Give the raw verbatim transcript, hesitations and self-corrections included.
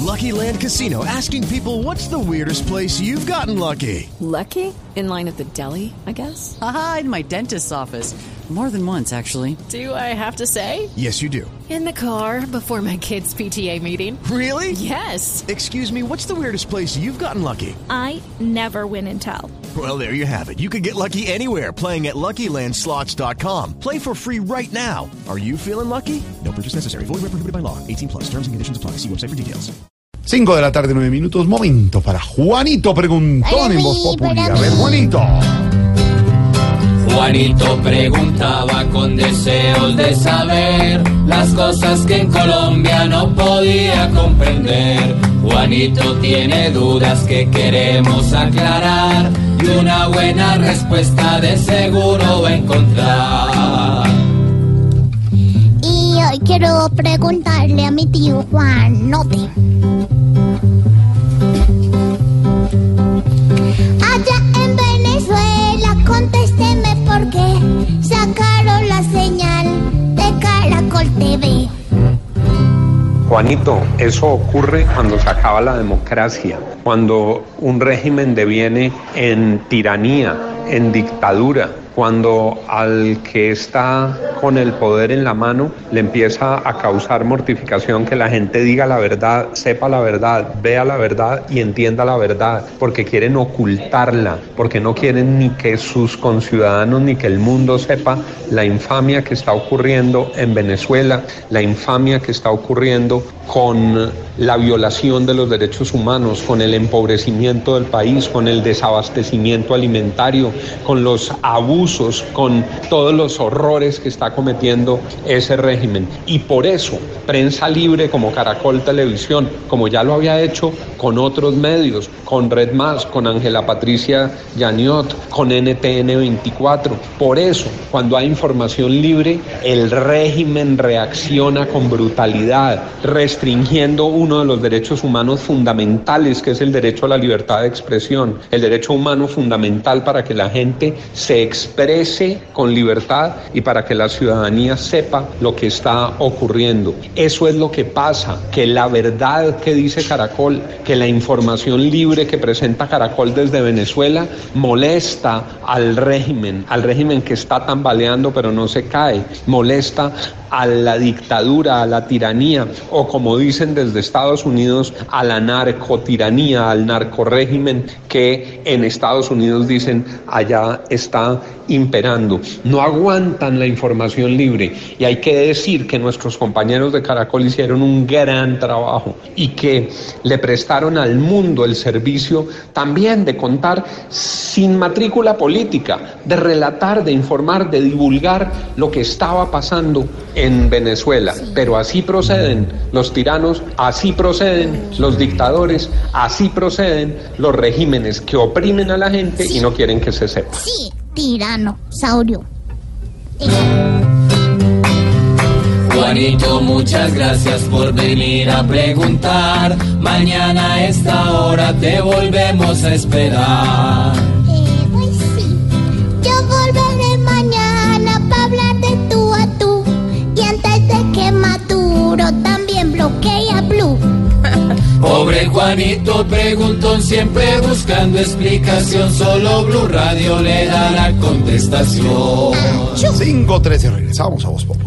Lucky Land Casino, asking people, what's the weirdest place you've gotten lucky? Lucky? In line at the deli, I guess? Aha, in my dentist's office. More than once, actually. Do I have to say? Yes, you do. In the car before my kids' P T A meeting. Really? Yes. Excuse me, what's the weirdest place you've gotten lucky? I never win and tell. Well, there you have it. You can get lucky anywhere, playing at Lucky Land Slots dot com. Play for free right now. Are you feeling lucky? No purchase necessary. Void where prohibited by law. eighteen plus. Terms and conditions apply. See website for details. Cinco de la tarde, nueve minutos. Momento para Juanito Preguntón en Voz Populi. A ver, Juanito. Juanito preguntaba con deseos de saber las cosas que en Colombia no podía comprender. Juanito tiene dudas que queremos aclarar y una buena respuesta de seguro va a encontrar. Y hoy quiero preguntarle a mi tío Juan Note. Allá en Venezuela, contésteme por qué sacaron la señal de Caracol T V. Juanito, eso ocurre cuando se acaba la democracia, cuando un régimen deviene en tiranía, en dictadura, cuando al que está con el poder en la mano le empieza a causar mortificación que la gente diga la verdad, sepa la verdad, vea la verdad y entienda la verdad, porque quieren ocultarla, porque no quieren ni que sus conciudadanos ni que el mundo sepa la infamia que está ocurriendo en Venezuela, la infamia que está ocurriendo con la violación de los derechos humanos, con el empobrecimiento del país, con el desabastecimiento alimentario, con los abusos, con todos los horrores que está cometiendo ese régimen. Y por eso, prensa libre como Caracol Televisión, como ya lo había hecho con otros medios, con Red Más, con Ángela Patricia Yaniot, con N T N veinticuatro, por eso, cuando hay información libre, el régimen reacciona con brutalidad, restringiendo uno de los derechos humanos fundamentales, que es el derecho a la libertad de expresión, el derecho humano fundamental para que la gente se exprese con libertad y para que la ciudadanía sepa lo que está ocurriendo. Eso es lo que pasa, que la verdad que dice Caracol, que la información libre que presenta Caracol desde Venezuela molesta al régimen, al régimen que está tambaleando pero no se cae, molesta a la dictadura, a la tiranía, o como dicen desde Estados Unidos, a la narcotiranía, al narcorrégimen que en Estados Unidos dicen allá está imperando. No aguantan la información libre y hay que decir que nuestros compañeros de Caracol hicieron un gran trabajo y que le prestaron al mundo el servicio también de contar sin matrícula política, de relatar, de informar, de divulgar lo que estaba pasando en Venezuela. Pero así proceden los tiranos, así proceden los dictadores, así proceden los regímenes que oprimen a la gente y no quieren que se sepa. Sí, tirano, saurio. Juanito, muchas gracias por venir a preguntar. Mañana a esta hora te volvemos a esperar. Eh, pues sí, yo volveré mañana para hablar de tú a tú. Y antes de que Maduro también bloquee a Blue. Pobre Juanito preguntón, siempre buscando explicación. Solo Blue Radio le da la contestación. cinco trece, regresamos a Voz Populi.